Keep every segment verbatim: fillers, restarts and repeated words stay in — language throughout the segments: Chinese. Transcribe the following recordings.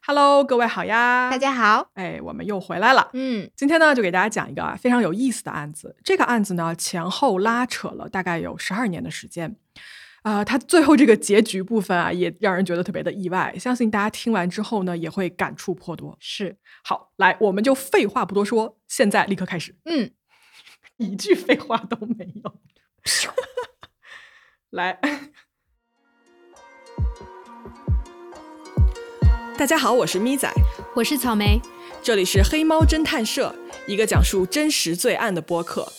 Hello， 各位好呀！ 大家好， 哎，我们又回来了。 嗯， 今天呢，就给大家讲一个啊非常有意思的案子。这个案子呢，前后拉扯了大概有十二年的时间。呃，它最后这个结局部分啊，也让人觉得特别的意外。相信大家听完之后呢，也会感触颇多。 是， 好，来，我们就废话不多说，现在立刻开始。 嗯， 一句废话都没有。来。大家好，我是咪仔， 我是草莓， 这里是黑猫侦探社，一个讲述真实罪案的播客。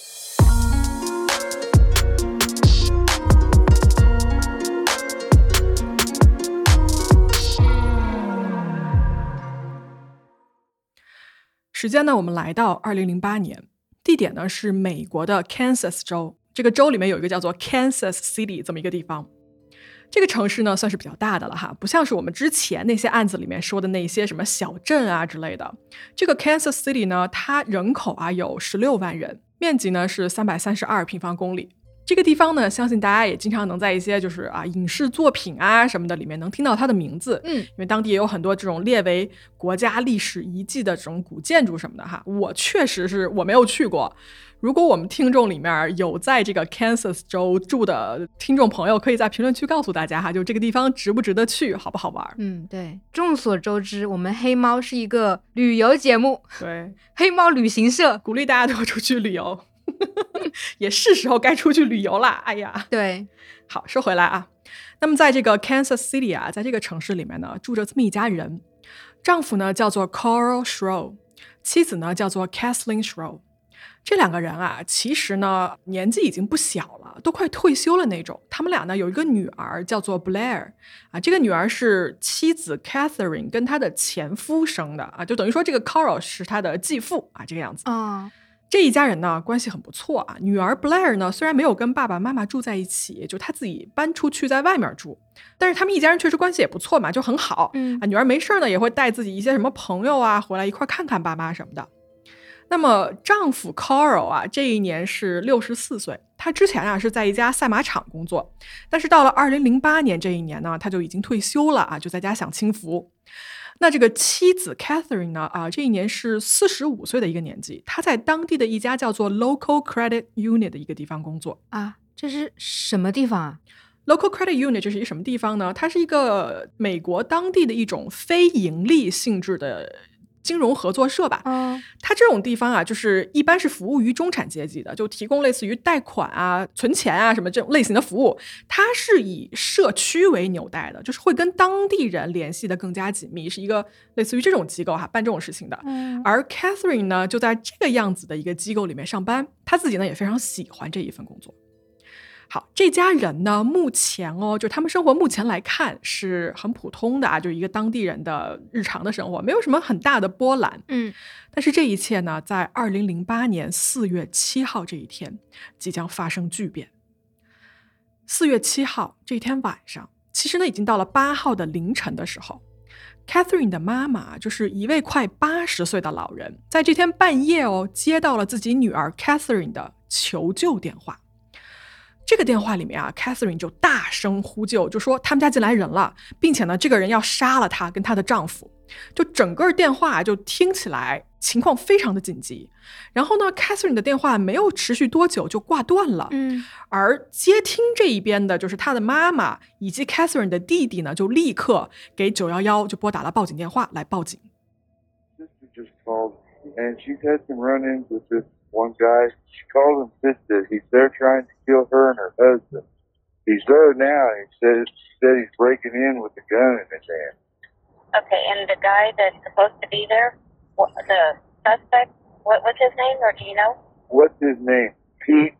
时间呢，我们来到二零零八年，地点呢是美国的 Kansas 州，这个州里面有一个叫做 Kansas City 这么一个地方。这个城市呢算是比较大的了哈，不像是我们之前那些案子里面说的那些什么小镇啊之类的。这个 Kansas City 呢，它人口啊有十六万人，面积呢是三百三十二平方公里。这个地方呢，相信大家也经常能在一些就是啊影视作品啊什么的里面能听到它的名字， 嗯， 因为当地也有很多这种列为国家历史遗迹的这种古建筑什么的哈。我确实是我没有去过。如果我们听众里面有在这个 Kansas 州住的听众朋友，可以在评论区告诉大家哈，就这个地方值不值得去，好不好玩？ 嗯，对，众所周知，我们黑猫是一个旅游节目， 对， 黑猫旅行社鼓励大家都出去旅游，也是时候该出去旅游啦。哎呀， 对， 好，说回来啊，那么在这个 Kansas City 啊，在这个城市里面呢，住着这么一家人，丈夫呢叫做 Carl Schroe， 妻子呢叫做 Kathleen Schroe。这两个人啊，其实呢年纪已经不小了，都快退休了那种。他们俩呢有一个女儿叫做 Blair 啊，这个女儿是妻子 Catherine 跟她的前夫生的啊，就等于说这个 Carl 是她的继父啊，这个样子。 哦， 这一家人呢关系很不错啊。女儿 Blair 呢虽然没有跟爸爸妈妈住在一起，就她自己搬出去在外面住，但是他们一家人确实关系也不错嘛，就很好。 嗯啊，女儿没事呢也会带自己一些什么朋友啊回来一块看看爸妈什么的。那么丈夫 Carl 啊，这一年是六十四岁，他之前啊是在一家赛马场工作，但是到了二零零八年这一年呢，他就已经退休了啊，就在家享清福。那这个妻子 Catherine 呢，啊，这一年是四十五岁的一个年纪，她在当地的一家叫做 Local Credit Unit 的一个地方工作啊，这是什么地方啊？ Local Credit Unit 这是一个什么地方呢？它是一个美国当地的一种非盈利性质的金融合作社吧。 哦， 它这种地方啊，就是一般是服务于中产阶级的，就提供类似于贷款啊、存钱啊什么这种类型的服务。它是以社区为纽带的，就是会跟当地人联系的更加紧密，是一个类似于这种机构哈，办这种事情的。 嗯， 而 Catherine 呢，就在这个样子的一个机构里面上班，她自己呢也非常喜欢这一份工作。好，这家人呢，目前哦，就他们生活目前来看是很普通的啊，就一个当地人的日常的生活，没有什么很大的波澜。 嗯， 但是这一切呢，在二零零八年四月七号这一天即将发生巨变。四月七号这一天晚上，其实呢已经到了八号的凌晨的时候。Catherine 的妈妈就是一位快八十岁的老人，在这天半夜哦，接到了自己女儿 Catherine 的求救电话。这个电话里面啊 Catherine 就大声呼救，就说他们家进来人了，并且呢这个人要杀了她跟她的丈夫。就整个电话就听起来情况非常的紧急。然后呢 Catherine 的电话没有持续多久就挂断了。 嗯， 而接听这一边的就是她的妈妈以及 Catherine 的弟弟呢，就立刻给九一一就拨打了报警电话来报警。 Sister just called and she's had some run-ins with this one guy. She called him sister. He's there trying to kill her and her husband. He's there now. He said, said he's breaking in with a gun in his hand. Okay, and the guy that's supposed to be there, what, the suspect, what was his name, or do you know? What's his name? Pete?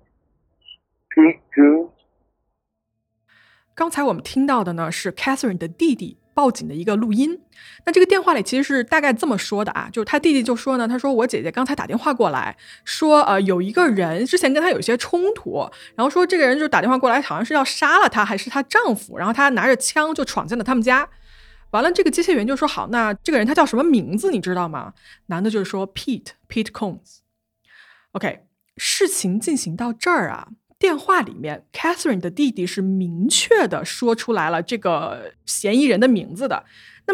Pete Coons? 刚才我们听到的呢是 Catherine 的弟弟报警的一个录音。那这个电话里其实是大概这么说的啊，就是他弟弟就说呢，他说我姐姐刚才打电话过来说呃有一个人之前跟他有一些冲突，然后说这个人就打电话过来好像是要杀了他还是他丈夫，然后他拿着枪就闯进了他们家。完了这个接线员就说好，那这个人他叫什么名字你知道吗？男的就是说 Pete Pete Coons。 OK， 事情进行到这儿啊，电话里面 Catherine 的弟弟是明确的说出来了这个嫌疑人的名字的。那么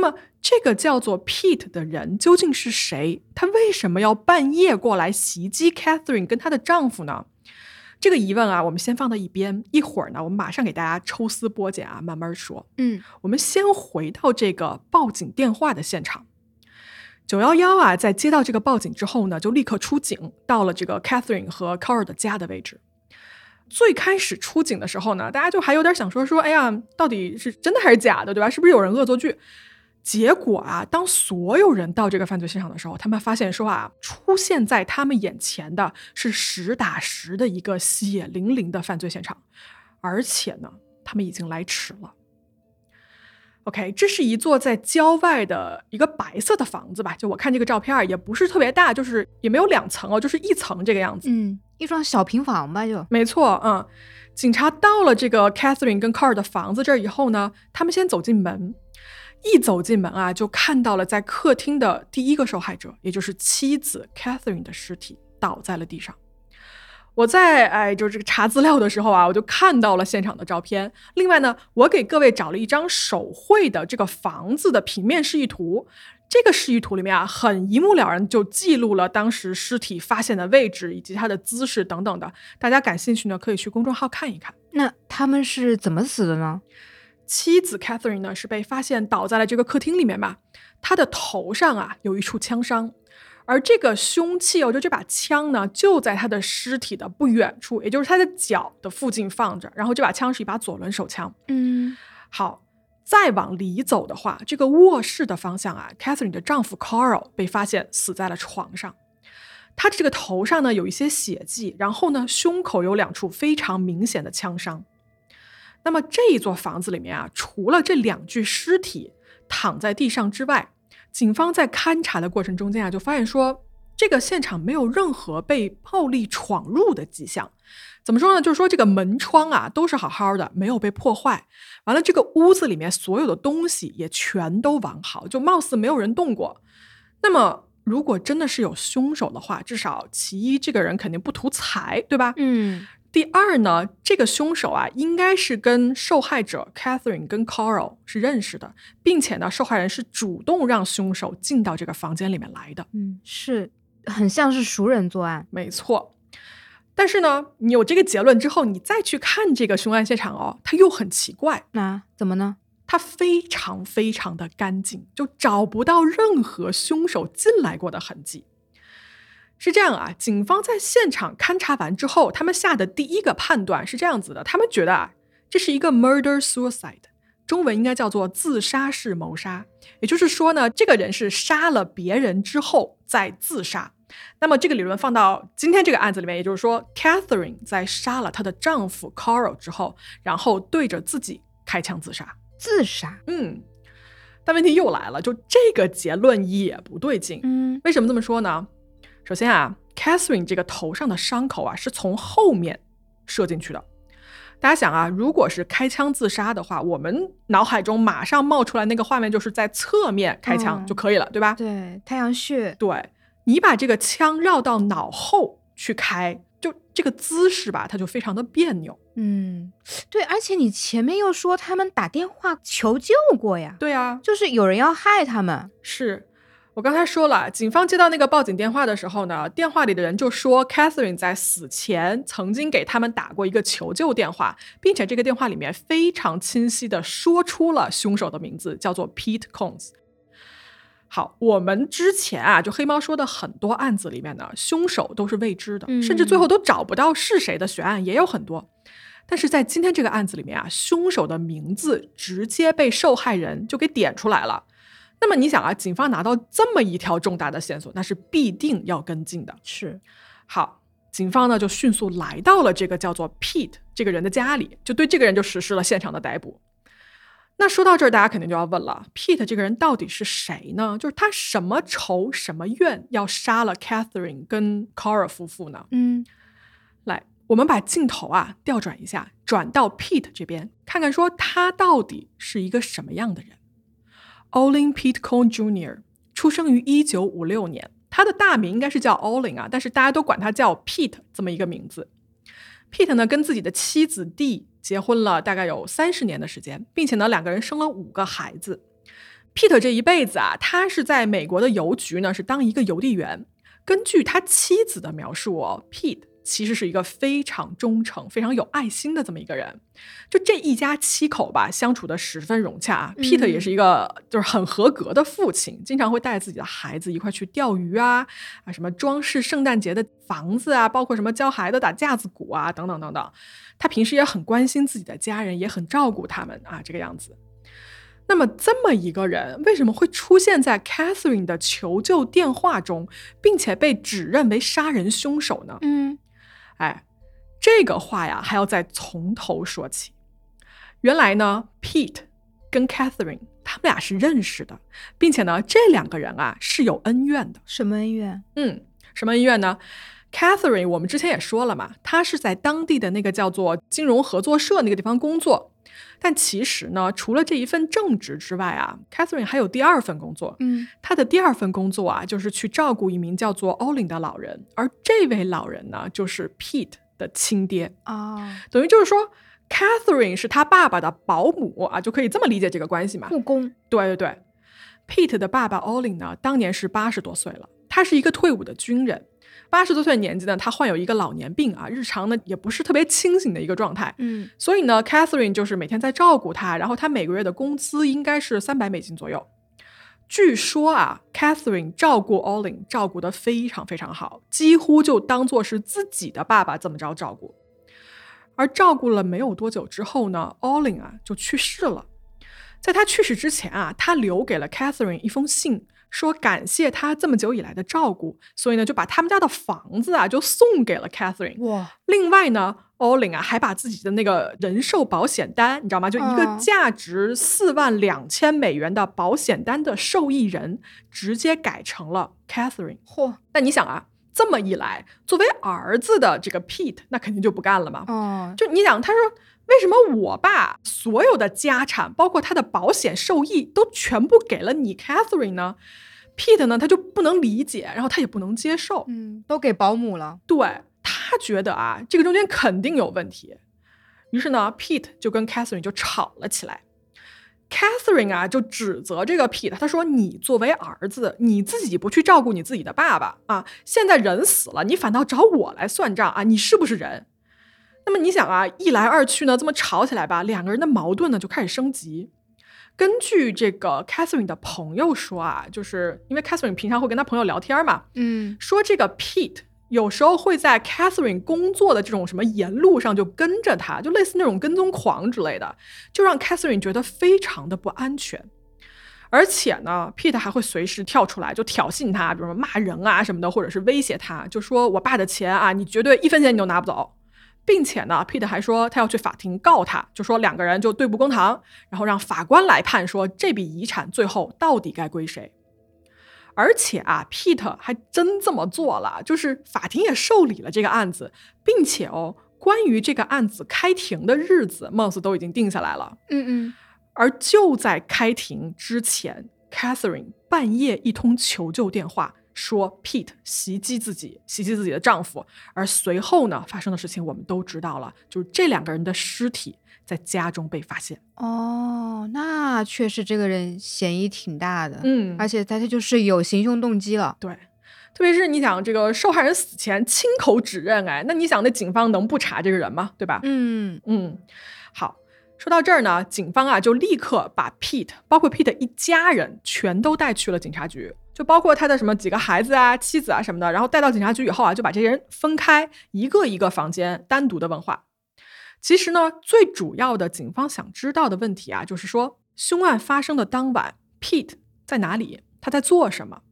这个叫做 Pete 的人究竟是谁？他为什么要半夜过来袭击 Catherine 跟她的丈夫呢？这个疑问啊，我们先放到一边，一会儿呢，我们马上给大家抽丝剥茧啊，慢慢说。 嗯， 我们先回到这个报警电话的现场。九一一啊，在接到这个报警之后呢，就立刻出警，到了这个 Catherine 和 Carl 的家的位置。最开始出警的时候呢，大家就还有点想说说，哎呀，到底是真的还是假的，对吧？是不是有人恶作剧？结果啊，当所有人到这个犯罪现场的时候，他们发现说啊，出现在他们眼前的是实打实的一个血淋淋的犯罪现场，而且呢，他们已经来迟了。OK， 这是一座在郊外的一个白色的房子吧，就我看这个照片也不是特别大，就是也没有两层哦，就是一层这个样子。 嗯，一幢小平房吧就。 没错，嗯。警察到了这个 Catherine 跟 Carl 的房子这儿以后呢，他们先走进门。一走进门啊，就看到了在客厅的第一个受害者，也就是妻子 Catherine 的尸体倒在了地上。我在哎，就是这个查资料的时候啊，我就看到了现场的照片。另外呢，我给各位找了一张手绘的这个房子的平面示意图。这个示意图里面啊，很一目了然就记录了当时尸体发现的位置以及它的姿势等等的。大家感兴趣呢，可以去公众号看一看。 那他们是怎么死的呢？ 妻子 Catherine 呢是被发现倒在了这个客厅里面吧，她的头上啊有一处枪伤，而这个凶器哦，就这把枪呢就在她的尸体的不远处，也就是她的脚的附近放着，然后这把枪是一把左轮手枪。 嗯， 好，再往里走的话，这个卧室的方向啊 Catherine 的丈夫 Carl 被发现死在了床上，他这个头上呢有一些血迹，然后呢胸口有两处非常明显的枪伤。那么这一座房子里面啊，除了这两具尸体躺在地上之外，警方在勘查的过程中间啊，就发现说这个现场没有任何被暴力闯入的迹象。怎么说呢？就是说这个门窗啊都是好好的，没有被破坏。完了，这个屋子里面所有的东西也全都完好，就貌似没有人动过。那么如果真的是有凶手的话，至少其一，这个人肯定不图财，对吧？ 嗯。 第二呢，这个凶手啊，应该是跟受害者 Catherine 跟 Carl 是认识的，并且呢，受害人是主动让凶手进到这个房间里面来的。 嗯，是很像是熟人作案。 没错。但是呢，你有这个结论之后，你再去看这个凶案现场哦，它又很奇怪。 那怎么呢？ 它非常非常的干净，就找不到任何凶手进来过的痕迹。是这样啊，警方在现场勘查完之后，他们下的第一个判断是这样子的，他们觉得啊，这是一个 murder suicide， 中文应该叫做自杀式谋杀。也就是说呢，这个人是杀了别人之后再自杀。那么这个理论放到今天这个案子里面，也就是说 Catherine 在杀了她的丈夫 Carl 之后，然后对着自己开枪自杀。 自杀？ 嗯。但问题又来了，就这个结论也不对劲。 嗯， 为什么这么说呢？首先啊 Catherine 这个头上的伤口啊是从后面射进去的。大家想啊，如果是开枪自杀的话，我们脑海中马上冒出来那个画面就是在侧面开枪就可以了，嗯、对吧？ 对，太阳穴。 对，你把这个枪绕到脑后去开，就这个姿势吧，它就非常的别扭。 嗯，对，而且你前面又说他们打电话求救过呀。 对啊， 就是有人要害他们。 是。我刚才说了，警方接到那个报警电话的时候呢，电话里的人就说 Catherine 在死前曾经给他们打过一个求救电话，并且这个电话里面非常清晰地说出了凶手的名字，叫做 Pete Combs。好，我们之前啊，就黑猫说的很多案子里面呢，凶手都是未知的， 嗯、 甚至最后都找不到是谁的悬案也有很多。但是在今天这个案子里面啊，凶手的名字直接被受害人就给点出来了。那么你想啊，警方拿到这么一条重大的线索，那是必定要跟进的。 是。 好，警方呢就迅速来到了这个叫做 Pete 这个人的家里，就对这个人就实施了现场的逮捕。那说到这儿，大家肯定就要问了， Pete 这个人到底是谁呢？就是他什么仇什么怨要杀了 Catherine 跟 Carl 夫妇呢？ 嗯， 来，我们把镜头啊调转一下，转到 Pete 这边，看看说他到底是一个什么样的人。Olin Pete Combs Junior 出生于一九五六年，他的大名应该是叫 Olin 啊，但是大家都管他叫 Pete 这么一个名字。Pete 呢跟自己的妻子 Dee 结婚了大概有三十年的时间，并且呢两个人生了五个孩子。 Pete 这一辈子啊，他是在美国的邮局呢，是当一个邮递员。根据他妻子的描述哦 ，Pete 其实是一个非常忠诚、非常有爱心的这么一个人。就这一家七口吧，相处的十分融洽。 嗯、 Pete 也是一个就是很合格的父亲，经常会带自己的孩子一块去钓鱼啊，啊什么装饰圣诞节的房子啊，包括什么教孩子打架子鼓啊，等等等等。他平时也很关心自己的家人，也很照顾他们啊，这个样子。那么这么一个人为什么会出现在 Catherine 的求救电话中，并且被指认为杀人凶手呢？ 嗯， 哎，这个话呀还要再从头说起。原来呢 Pete 跟 Catherine 他们俩是认识的，并且呢这两个人啊是有恩怨的。 什么恩怨？ 嗯，什么恩怨呢？ Catherine 我们之前也说了嘛，她是在当地的那个叫做金融合作社那个地方工作。但其实呢，除了这一份正职之外啊 Catherine 还有第二份工作。 嗯， 她的第二份工作啊，就是去照顾一名叫做 Olin 的老人，而这位老人呢，就是 Pete 的亲爹。 哦， 等于就是说 Catherine 是他爸爸的保姆啊，就可以这么理解这个关系嘛。 护工。 对对对 Pete 的爸爸 Olin 呢，当年是八十多岁了，他是一个退伍的军人。八十多岁的年纪呢，他患有一个老年病啊，日常呢也不是特别清醒的一个状态。 嗯， 所以呢 Catherine 就是每天在照顾他，然后他每个月的工资应该是三百美金左右。据说啊 Catherine 照顾 Olin 照顾得非常非常好，几乎就当作是自己的爸爸这么着照顾。而照顾了没有多久之后呢 Olin 啊就去世了。在他去世之前啊，他留给了 Catherine 一封信，说感谢他这么久以来的照顾，所以呢就把他们家的房子啊就送给了 Catherine。 哇， 另外呢 Olin 啊还把自己的那个人寿保险单，你知道吗，就一个价值四万两千美元的保险单的受益人直接改成了 Catherine。 嚯， 那你想啊，这么一来，作为儿子的这个 Pete 那肯定就不干了嘛。 哦， 就你想，他说为什么我爸所有的家产包括他的保险受益都全部给了你 Catherine 呢？ Pete 呢他就不能理解，然后他也不能接受。 嗯，都给保姆了。 对，他觉得啊这个中间肯定有问题。于是呢 Pete 就跟 Catherine 就吵了起来。 Catherine 啊就指责这个 Pete， 他说你作为儿子，你自己不去照顾你自己的爸爸啊，现在人死了你反倒找我来算账啊，你是不是人？那么你想啊，一来二去呢这么吵起来吧，两个人的矛盾呢就开始升级。根据这个 Catherine 的朋友说啊，就是因为 Catherine 平常会跟他朋友聊天嘛， 嗯， 说这个 Pete 有时候会在 Catherine 工作的这种什么沿路上就跟着他，就类似那种跟踪狂之类的，就让 Catherine 觉得非常的不安全。而且呢 Pete 还会随时跳出来就挑衅他，比如说骂人啊什么的，或者是威胁他，就说我爸的钱啊你绝对一分钱你都拿不走。并且呢 Pete 还说他要去法庭告他，就说两个人就对簿公堂，然后让法官来判说这笔遗产最后到底该归谁。而且啊 Pete 还真这么做了，就是法庭也受理了这个案子，并且哦关于这个案子开庭的日子貌似都已经定下来了。 嗯嗯， 而就在开庭之前 Catherine 半夜一通求救电话，说 Pete 袭击自己袭击自己的丈夫。而随后呢发生的事情我们都知道了，就是这两个人的尸体在家中被发现。 哦，那确实这个人嫌疑挺大的。 嗯， 而且他他就是有行凶动机了。 对，特别是你想这个受害人死前亲口指认，哎，那你想那警方能不查这个人吗？对吧？ 嗯嗯，好，说到这儿呢，警方啊就立刻把 Pete 包括 Pete 一家人全都带去了警察局，就包括他的什么几个孩子啊妻子啊什么的，然后带到警察局以后啊就把这些人分开，一个一个房间单独的问话。其实呢最主要的警方想知道的问题啊就是说凶案发生的当晚 Pete 在哪里，他在做什么。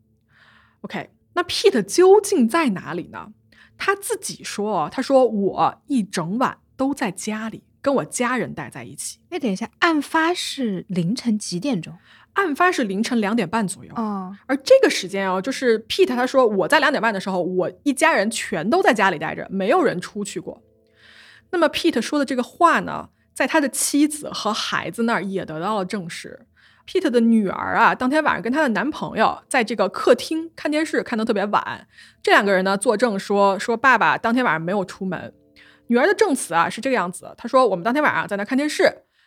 OK， 那 Pete 究竟在哪里呢？他自己说，他说我一整晚都在家里跟我家人待在一起。 哎，等一下，案发是凌晨几点钟？ 案发是凌晨两点半左右。 哦， 而这个时间哦，就是 Pete 他说我在两点半的时候，我一家人全都在家里待着，没有人出去过。那么 Pete 说的这个话呢，在他的妻子和孩子那儿也得到了证实。Pete 的女儿啊，当天晚上跟她的男朋友在这个客厅看电视，看得特别晚。这两个人呢作证说，说爸爸当天晚上没有出门。女儿的证词啊是这个样子，她说我们当天晚上在那看电视，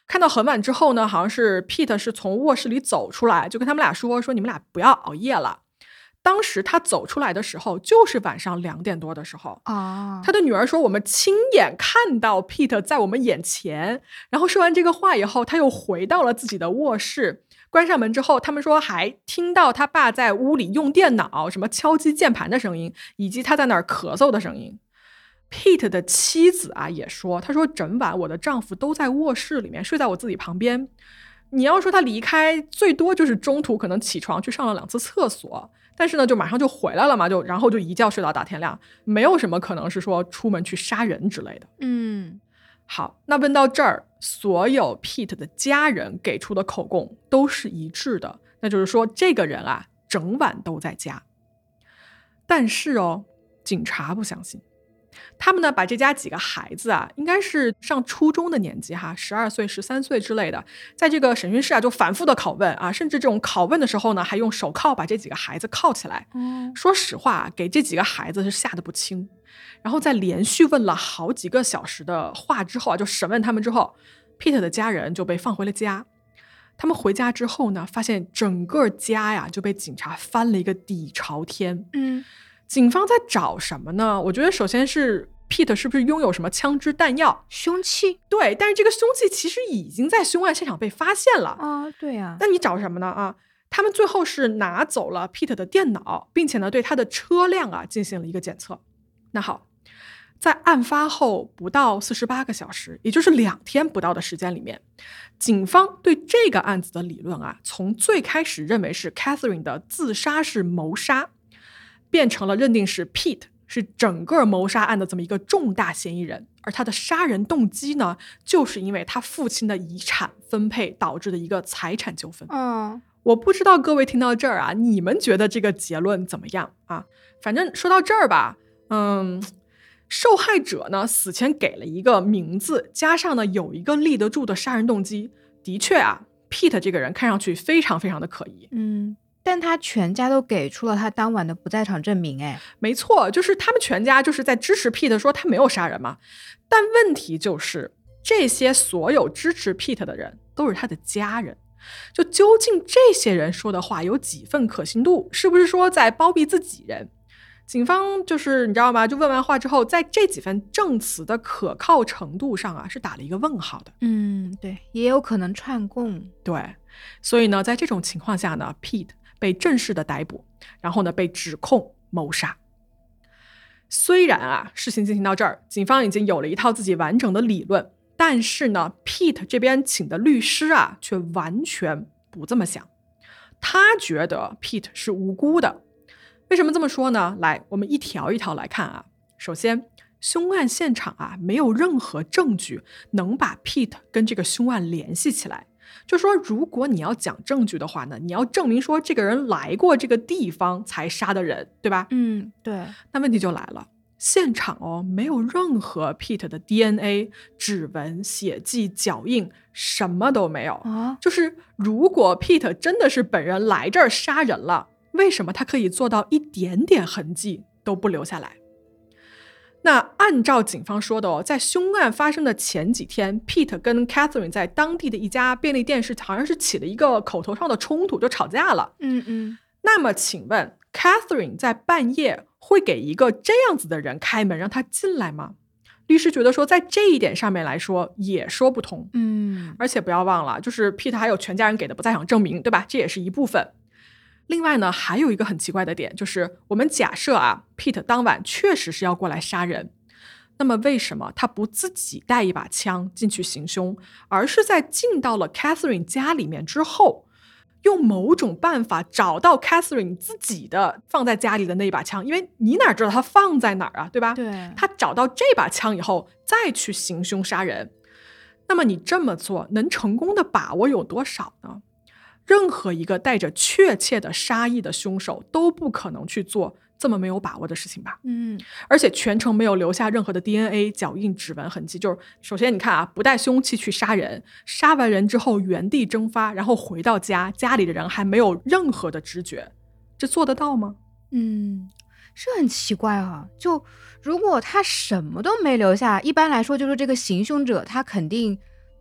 看到很晚之后呢，好像是 Pete 是从卧室里走出来，就跟他们俩说说你们俩不要熬夜了。当时他走出来的时候就是晚上两点多的时候啊， 他的女儿说我们亲眼看到 Pete 在我们眼前，然后说完这个话以后他又回到了自己的卧室，关上门之后他们说还听到他爸在屋里用电脑什么敲击键盘的声音，以及他在那儿咳嗽的声音。Pete 的妻子啊也说，他说整晚我的丈夫都在卧室里面睡在我自己旁边，你要说他离开最多就是中途可能起床去上了两次厕所，但是呢就马上就回来了嘛，就然后就一觉睡到大天亮，没有什么可能是说出门去杀人之类的。 嗯， 好，那问到这儿，所有 Pete 的家人给出的口供都是一致的，那就是说这个人啊整晚都在家。但是哦，警察不相信。他们呢把这家几个孩子啊，应该是上初中的年纪哈，十二岁、十三岁之类的，在这个审讯室啊就反复的拷问啊，甚至这种拷问的时候呢，还用手铐把这几个孩子铐起来。 嗯， 说实话，给这几个孩子是吓得不轻。然后在连续问了好几个小时的话之后啊，就审问他们之后 ，Pete 的家人就被放回了家。他们回家之后呢，发现整个家呀就被警察翻了一个底朝天。 嗯。 警方在找什么呢？我觉得首先是 Pete 是不是拥有什么枪支弹药、 凶器？ 对，但是这个凶器其实已经在凶案现场被发现了啊，对呀、啊。 那你找什么呢？啊，他们最后是拿走了 Pete 的电脑，并且呢对他的车辆啊进行了一个检测。那好，在案发后不到四十八个小时，也就是两天不到的时间里面，警方对这个案子的理论啊，从最开始认为是 Catherine 的自杀式谋杀，变成了认定是 Pete 是整个谋杀案的这么一个重大嫌疑人，而他的杀人动机呢，就是因为他父亲的遗产分配导致的一个财产纠纷。 嗯， 我不知道各位听到这儿啊，你们觉得这个结论怎么样啊？反正说到这儿吧，嗯，受害者呢死前给了一个名字，加上呢有一个立得住的杀人动机，的确啊 ，Pete 这个人看上去非常非常的可疑。 嗯。但他全家都给出了他当晚的不在场证明，哎， 没错，就是他们全家就是在支持 Pete 说他没有杀人嘛。但问题就是这些所有支持 Pete 的人都是他的家人，就究竟这些人说的话有几分可信度，是不是说在包庇自己人？警方就是你知道吗，就问完话之后，在这几份证词的可靠程度上啊是打了一个问号的。 嗯，对，也有可能串供。 对，所以呢在这种情况下呢 Pete被正式的逮捕，然后呢被指控谋杀。虽然啊事情进行到这儿，警方已经有了一套自己完整的理论，但是呢 Pete 这边请的律师啊却完全不这么想。他觉得 Pete 是无辜的。为什么这么说呢？来，我们一条一条来看啊。首先，凶案现场啊没有任何证据能把 Pete 跟这个凶案联系起来。就说如果你要讲证据的话呢，你要证明说这个人来过这个地方才杀的人，对吧？ 嗯，对。 那问题就来了，现场哦没有任何 Pete 的 D N A、 指纹、血迹、脚印，什么都没有啊。 就是如果 Pete 真的是本人来这儿杀人了，为什么他可以做到一点点痕迹都不留下来？那按照警方说的哦，在凶案发生的前几天 Pete 跟 Catherine 在当地的一家便利店是好像是起了一个口头上的冲突，就吵架了。 嗯嗯。 那么请问 Catherine 在半夜会给一个这样子的人开门让他进来吗？律师觉得说在这一点上面来说也说不通。 嗯， 而且不要忘了，就是 Pete 还有全家人给的不在场证明，对吧？这也是一部分。另外呢，还有一个很奇怪的点，就是我们假设啊 Pete 当晚确实是要过来杀人，那么为什么他不自己带一把枪进去行凶，而是在进到了 Catherine 家里面之后，用某种办法找到 Catherine 自己的放在家里的那一把枪？因为你哪知道他放在哪儿啊，对吧？ 对。 他找到这把枪以后再去行凶杀人，那么你这么做能成功的把握有多少呢？任何一个带着确切的杀意的凶手都不可能去做这么没有把握的事情吧。 嗯， 而且全程没有留下任何的 D N A、 脚印、指纹痕迹。就是首先你看啊，不带凶器去杀人，杀完人之后原地蒸发，然后回到家，家里的人还没有任何的知觉，这做得到吗？ 嗯，是很奇怪啊。就如果他什么都没留下，一般来说就是这个行凶者他肯定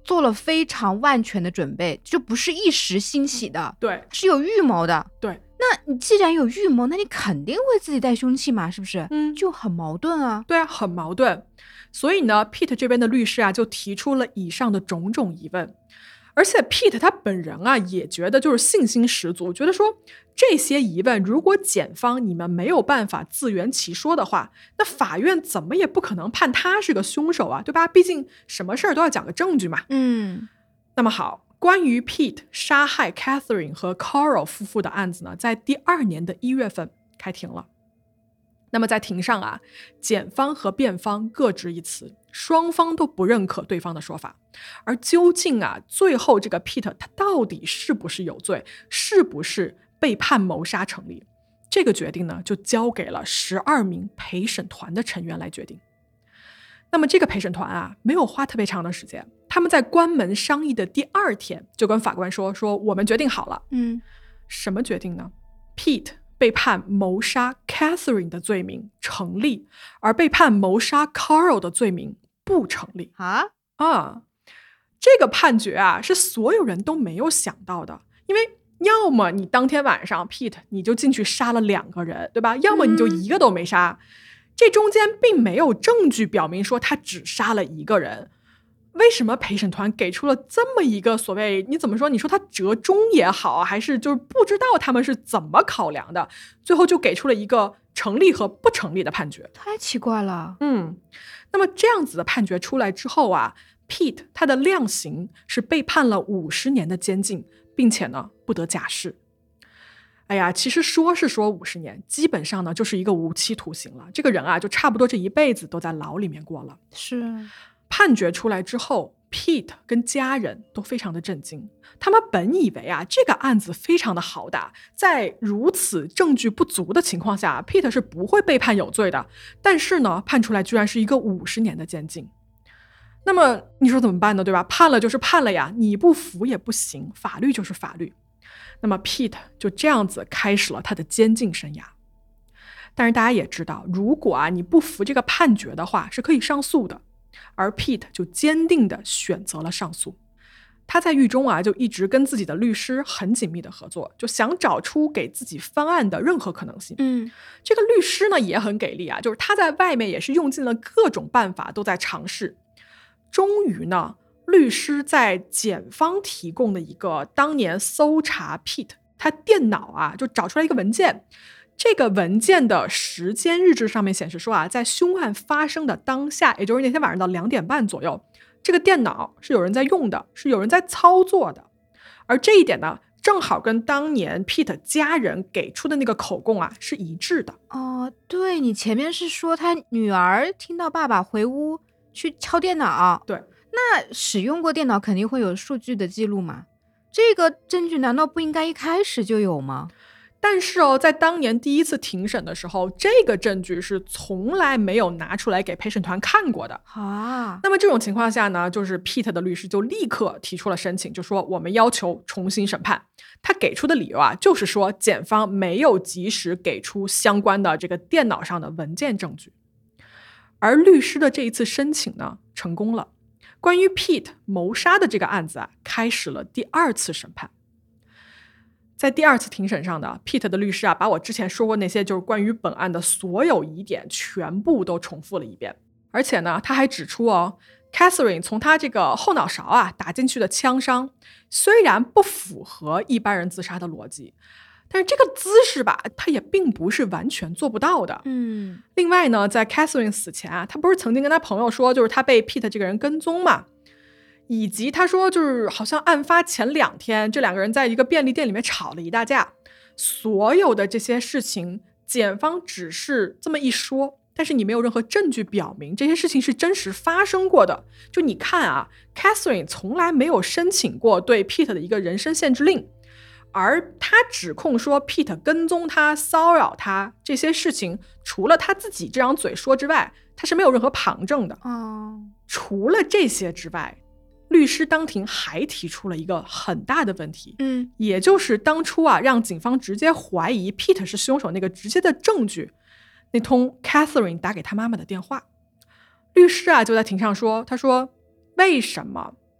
做了非常万全的准备，就不是一时兴起的， 对， 是有预谋的。 对， 那你既然有预谋，那你肯定会自己带凶器嘛，是不是？ 嗯， 就很矛盾啊。 对啊，很矛盾。所以呢 Pete 这边的律师啊就提出了以上的种种疑问，而且 Pete 他本人啊也觉得就是信心十足，觉得说这些疑问如果检方你们没有办法自圆其说的话，那法院怎么也不可能判他是个凶手啊，对吧？毕竟什么事儿都要讲个证据嘛。 嗯， 那么好，关于 Pete 杀害 Catherine 和 Carl 夫妇的案子呢，在第二年的一月份开庭了。那么在庭上啊，检方和辩方各执一词，双方都不认可对方的说法。而究竟啊，最后这个 Pete 他到底是不是有罪，是不是被判谋杀成立，这个决定呢，就交给了十二名陪审团的成员来决定。那么这个陪审团啊，没有花特别长的时间，他们在关门商议的第二天就跟法官说说我们决定好了。 嗯， 什么决定呢？ Pete 被判谋杀 Catherine 的罪名成立，而被判谋杀 Carl 的罪名不成立。 啊啊，这个判决啊是所有人都没有想到的，因为要么你当天晚上 Pete 你就进去杀了两个人，对吧？要么你就一个都没杀，嗯、这中间并没有证据表明说他只杀了一个人。为什么陪审团给出了这么一个所谓，你怎么说，你说他折中也好，还是就是不知道他们是怎么考量的，最后就给出了一个成立和不成立的判决。 太奇怪了。 嗯，那么这样子的判决出来之后啊， Pete 他的量刑是被判了五十年的监禁，并且呢不得假释。哎呀，其实说是说五十年，基本上呢就是一个无期徒刑了。这个人啊，就差不多这一辈子都在牢里面过了。 是。 判决出来之后 Pete 跟家人都非常的震惊，他们本以为啊这个案子非常的好打，在如此证据不足的情况下 Pete 是不会被判有罪的，但是呢判出来居然是一个五十年的监禁。那么你说怎么办呢，对吧？判了就是判了呀，你不服也不行，法律就是法律。那么 Pete 就这样子开始了他的监禁生涯。但是大家也知道，如果啊你不服这个判决的话是可以上诉的，而 Pete 就坚定地选择了上诉。他在狱中啊，就一直跟自己的律师很紧密的合作，就想找出给自己翻案的任何可能性。 嗯， 这个律师呢也很给力啊，就是他在外面也是用尽了各种办法，都在尝试。终于呢，律师在检方提供的一个当年搜查 Pete 他电脑啊，就找出来一个文件。这个文件的时间日志上面显示说啊，在凶案发生的当下，也就是那天晚上的两点半左右，这个电脑是有人在用的，是有人在操作的。而这一点呢，正好跟当年 Pete 家人给出的那个口供啊是一致的。 哦，对，你前面是说他女儿听到爸爸回屋去敲电脑， 对， 那使用过电脑肯定会有数据的记录嘛，这个证据难道不应该一开始就有吗？ 但是哦，在当年第一次庭审的时候，这个证据是从来没有拿出来给陪审团看过的啊。 那么这种情况下呢，就是 Pete 的律师就立刻提出了申请，就说我们要求重新审判。他给出的理由啊，就是说检方没有及时给出相关的这个电脑上的文件证据。而律师的这一次申请呢，成功了。关于 Pete 谋杀的这个案子啊，开始了第二次审判。在第二次庭审上的 Pete 的律师啊，把我之前说过那些就是关于本案的所有疑点全部都重复了一遍。而且呢，他还指出哦 Catherine 从他这个后脑勺啊打进去的枪伤，虽然不符合一般人自杀的逻辑，但是这个姿势吧，他也并不是完全做不到的。 嗯。 另外呢，在 Catherine 死前啊，他不是曾经跟他朋友说，就是他被 Pete 这个人跟踪嘛，以及他说就是好像案发前两天，这两个人在一个便利店里面吵了一大架。所有的这些事情，检方只是这么一说，但是你没有任何证据表明这些事情是真实发生过的。就你看啊 Catherine 从来没有申请过对 Pete 的一个人身限制令，而他指控说 Pete 跟踪他、骚扰他这些事情，除了他自己这张嘴说之外，他是没有任何旁证的。 哦， 除了这些之外，律师当庭还提出了一个很大的问题， 嗯， 也就是当初啊让警方直接怀疑 Pete 是凶手那个直接的证据，那通 Catherine 打给他妈妈的电话。律师啊就在庭上说，他说为什么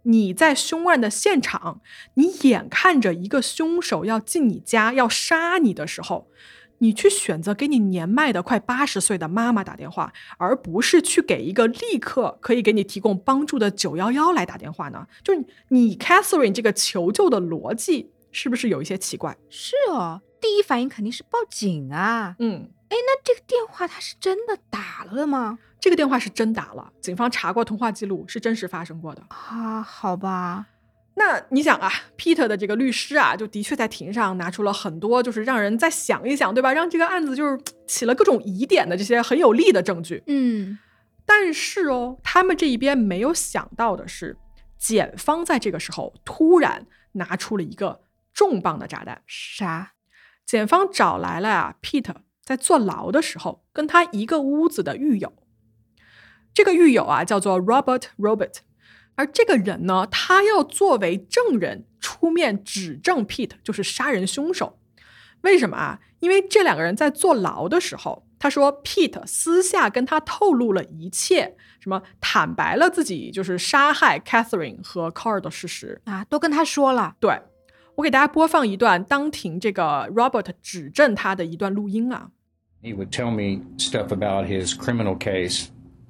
你在凶案的现场，你眼看着一个凶手要进你家要杀你的时候，你去选择给你年迈的快八十岁的妈妈打电话，而不是去给一个立刻可以给你提供帮助的九一一来打电话呢？就是你 Catherine 这个求救的逻辑是不是有一些奇怪？ 是哦，第一反应肯定是报警啊。 嗯， 哎，那这个电话他是真的打了的吗？ 这个电话是真打了，警方查过通话记录，是真实发生过的啊。好吧， 那你想啊 Peter 的这个律师啊，就的确在庭上拿出了很多就是让人再想一想，对吧，让这个案子就是起了各种疑点的这些很有力的证据。 嗯， 但是哦，他们这一边没有想到的是，检方在这个时候突然拿出了一个重磅的炸弹。 啥？ 检方找来了啊 Peter 在坐牢的时候跟他一个屋子的狱友，这个狱友啊叫做 Robert Robert， 而这个人呢，他要作为证人出面指证 Pete 就是杀人凶手。为什么啊？因为这两个人在坐牢的时候，他说 Pete 私下跟他透露了一切，什么坦白了自己就是杀害 Catherine 和 Carl 的事实啊，都跟他说了。 对，我给大家播放一段当庭这个 Robert 指证他的一段录音啊。 He would tell me stuff about his criminal case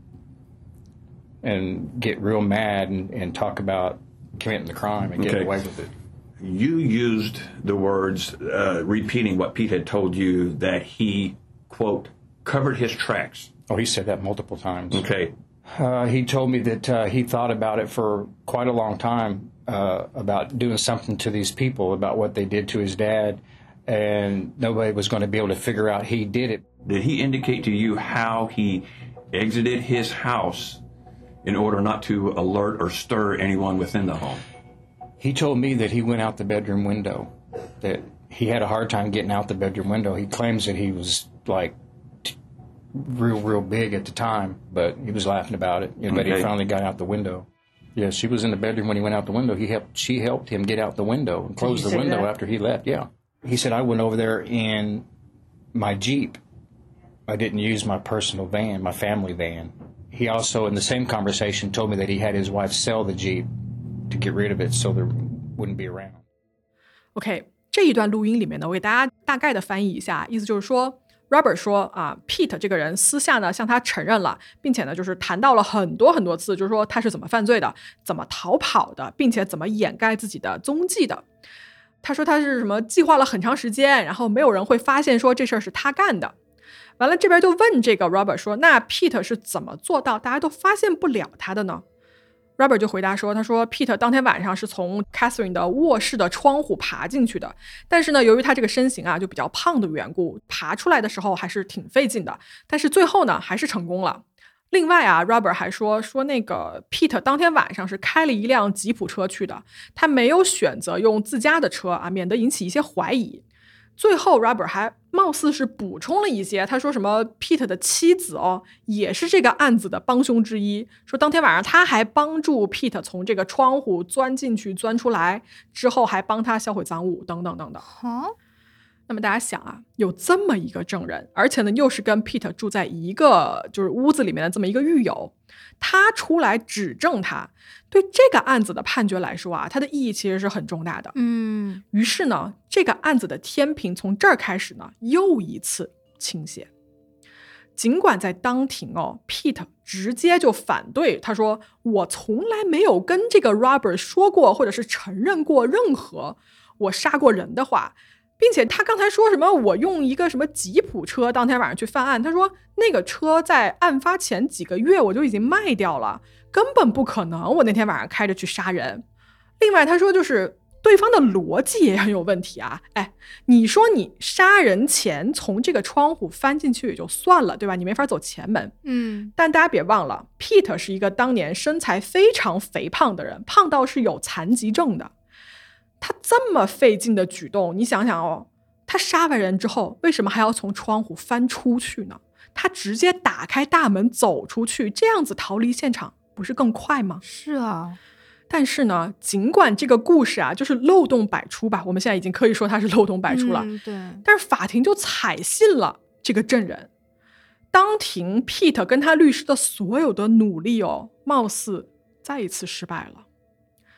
and get real mad and, and talk about committing the crime and getting Okay. away with it. You used the words, uh, repeating what Pete had told you, that he, quote, covered his tracks. Oh, he said that multiple times. Okay. Uh, he told me that uh, he thought about it for quite a long time, uh, about doing something to these people, about what they did to his dad, and nobody was going to be able to figure out he did it. Did he indicate to you how he exited his house in order not to alert or stir anyone within the home? He told me that he went out the bedroom window, that he had a hard time getting out the bedroom window. He claims that he was like t- real, real big at the time, but he was laughing about it. You know, But Okay. he finally got out the window. Yeah, she was in the bedroom when he went out the window. He helped. She helped him get out the window and close you the say window that? after he left. Yeah, he said I went over there in my Jeep. I didn't use my personal van, my family van. He also, in the same conversation, told me that he had his wife sell the Jeep to get rid of it so there wouldn't be around. OK， 这一段录音里面呢，我给大家大概的翻译一下，意思就是说 Robert 说啊 Pete 这个人私下呢向他承认了，并且呢就是谈到了很多很多次，就是说他是怎么犯罪的，怎么逃跑的，并且怎么掩盖自己的踪迹的。他说他是什么计划了很长时间，然后没有人会发现说这事儿是他干的。完了这边就问这个 Robert 说，那 Pete 是怎么做到大家都发现不了他的呢？ Robert 就回答说，他说 Pete 当天晚上是从 Catherine 的卧室的窗户爬进去的，但是呢由于他这个身形啊就比较胖的缘故，爬出来的时候还是挺费劲的，但是最后呢还是成功了。另外啊 Robert 还说说那个 Pete 当天晚上是开了一辆吉普车去的，他没有选择用自家的车啊，免得引起一些怀疑。最后 Robert 还貌似是补充了一些，他说什么 Pete 的妻子哦也是这个案子的帮凶之一，说当天晚上他还帮助 Pete 从这个窗户钻进去钻出来，之后还帮他销毁赃物等等等等。 好， 那么大家想啊，有这么一个证人，而且呢又是跟 Pete 住在一个就是屋子里面的这么一个狱友，他出来指证他，对这个案子的判决来说啊，它的意义其实是很重大的。 嗯， 于是呢，这个案子的天平从这儿开始呢，又一次倾斜。尽管在当庭哦 ，Pete 直接就反对，他说：“我从来没有跟这个 Robert 说过，或者是承认过任何我杀过人的话。”并且他刚才说什么我用一个什么吉普车当天晚上去犯案，他说那个车在案发前几个月我就已经卖掉了，根本不可能我那天晚上开着去杀人。另外他说就是对方的逻辑也很有问题啊，哎，你说你杀人前从这个窗户翻进去也就算了，对吧？你没法走前门。 嗯， 但大家别忘了 Pete 是一个当年身材非常肥胖的人，胖到是有残疾证的。他这么费劲的举动，你想想哦，他杀完人之后为什么还要从窗户翻出去呢？他直接打开大门走出去，这样子逃离现场不是更快吗？ 是啊。 但是呢，尽管这个故事啊就是漏洞百出吧，我们现在已经可以说它是漏洞百出了， 嗯，对。 但是法庭就采信了这个证人。当庭 Pete 跟他律师的所有的努力哦，貌似再一次失败了。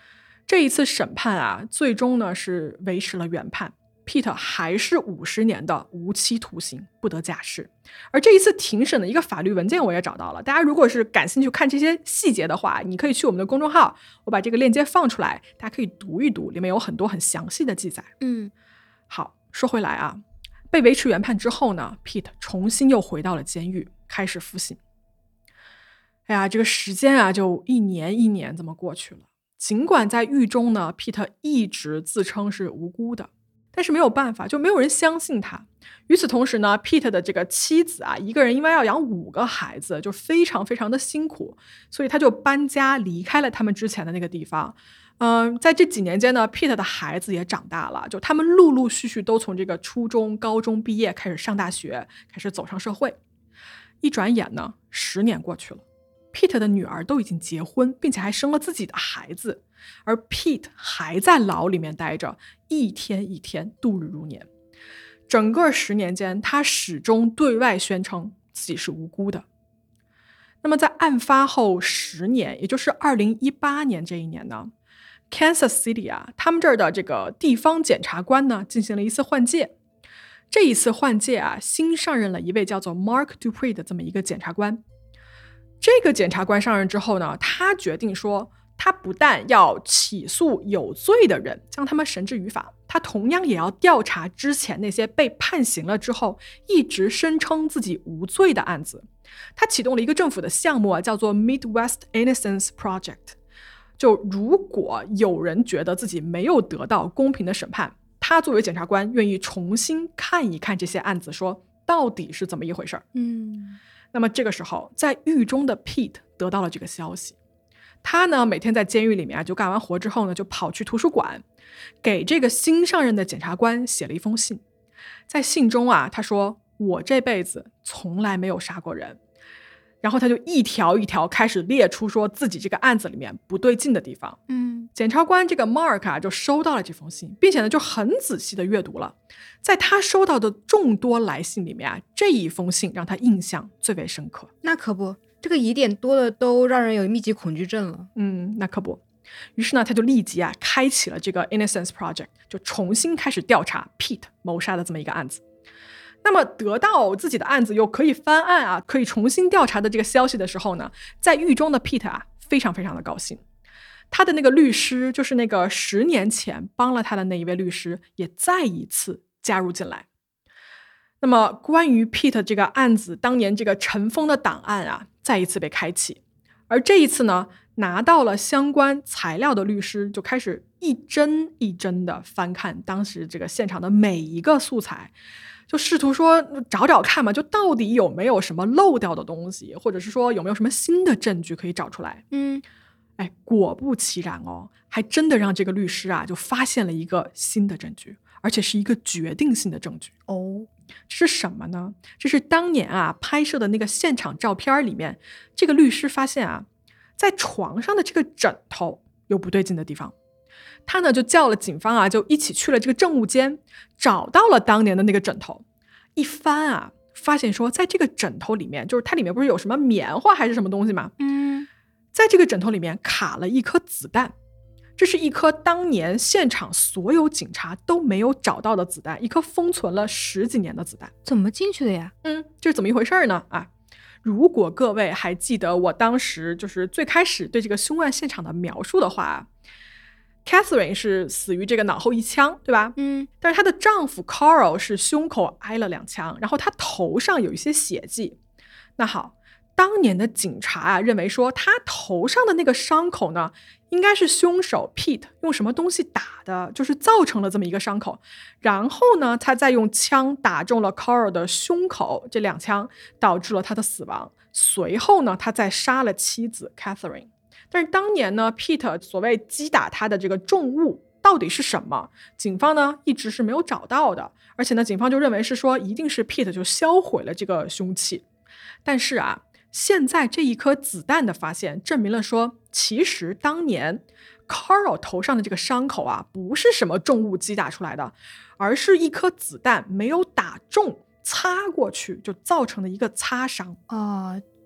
这一次审判啊，最终呢是维持了原判。Pete 还是五十年的无期徒刑，不得假释。而这一次庭审的一个法律文件我也找到了，大家如果是感兴趣看这些细节的话，你可以去我们的公众号，我把这个链接放出来，大家可以读一读，里面有很多很详细的记载。 嗯， 好，说回来啊，被维持原判之后呢 Pete 重新又回到了监狱，开始服刑。哎呀，这个时间啊就一年一年这么过去了。尽管在狱中呢 Pete 一直自称是无辜的，但是没有办法，就没有人相信他。与此同时呢 Pete 的这个妻子啊，一个人因为要养五个孩子，就非常非常的辛苦，所以他就搬家离开了他们之前的那个地方。嗯、呃，在这几年间呢 Pete 的孩子也长大了，就他们陆陆续续都从这个初中高中毕业，开始上大学，开始走上社会。一转眼呢十年过去了， Pete 的女儿都已经结婚，并且还生了自己的孩子，而 Pete 还在牢里面待着，一天一天度日如年。整个十年间，他始终对外宣称自己是无辜的。那么在案发后十年，也就是二零一八年这一年呢 Kansas City 啊，他们这儿的这个地方检察官呢进行了一次换届。这一次换届啊，新上任了一位叫做 Mark Dupree 的这么一个检察官。这个检察官上任之后呢，他决定说，他不但要起诉有罪的人，将他们绳之于法，他同样也要调查之前那些被判刑了之后一直声称自己无罪的案子。他启动了一个政府的项目啊，叫做 Midwest Innocence Project。就如果有人觉得自己没有得到公平的审判，他作为检察官愿意重新看一看这些案子，说到底是怎么一回事。 嗯， 那么这个时候，在狱中的 Pete 得到了这个消息。他呢，每天在监狱里面啊，就干完活之后呢，就跑去图书馆，给这个新上任的检察官写了一封信。在信中啊，他说：“我这辈子从来没有杀过人。”然后他就一条一条开始列出说自己这个案子里面不对劲的地方。 嗯， 检察官这个 Mark 啊，就收到了这封信，并且呢，就很仔细的阅读了。在他收到的众多来信里面啊，这一封信让他印象最为深刻。 那可不，这个疑点多的都让人有密集恐惧症了。 嗯，那可不。于是呢，他就立即啊，开启了这个 Innocence Project， 就重新开始调查 Pete 谋杀的这么一个案子。那么得到自己的案子又可以翻案啊，可以重新调查的这个消息的时候呢，在狱中的 Pete 啊，非常非常的高兴。他的那个律师，就是那个十年前帮了他的那一位律师，也再一次加入进来。那么关于 Pete 这个案子当年这个尘封的档案啊，再一次被开启。而这一次呢，拿到了相关材料的律师就开始一帧一帧的翻看当时这个现场的每一个素材，就试图说找找看嘛，就到底有没有什么漏掉的东西，或者是说有没有什么新的证据可以找出来。 嗯， 哎，果不其然哦，还真的让这个律师啊就发现了一个新的证据，而且是一个决定性的证据。 哦， 这是什么呢？这是当年啊拍摄的那个现场照片里面，这个律师发现啊，在床上的这个枕头有不对劲的地方。他呢就叫了警方啊，就一起去了这个证物间，找到了当年的那个枕头。一翻啊，发现说在这个枕头里面，就是它里面不是有什么棉花还是什么东西吗？ 嗯， 在这个枕头里面卡了一颗子弹。这是一颗当年现场所有警察都没有找到的子弹，一颗封存了十几年的子弹。 怎么进去的呀？ 嗯，这是怎么一回事呢？啊，如果各位还记得我当时就是最开始对这个凶案现场的描述的话， Catherine 是死于这个脑后一枪，对吧？ 嗯， 但是她的丈夫 Carl 是胸口挨了两枪，然后他头上有一些血迹。那好，当年的警察啊认为说他头上的那个伤口呢，应该是凶手 Pete 用什么东西打的，就是造成了这么一个伤口。然后呢，他再用枪打中了 Carl 的胸口，这两枪导致了他的死亡。随后呢，他再杀了妻子 Catherine。但是当年呢 Pete 所谓击打他的这个重物到底是什么，警方呢一直是没有找到的。而且呢，警方就认为是说一定是 Pete 就销毁了这个凶器。但是啊，现在这一颗子弹的发现证明了说，其实当年 Carl 头上的这个伤口啊，不是什么重物击打出来的，而是一颗子弹没有打中，擦过去就造成的一个擦伤。 啊，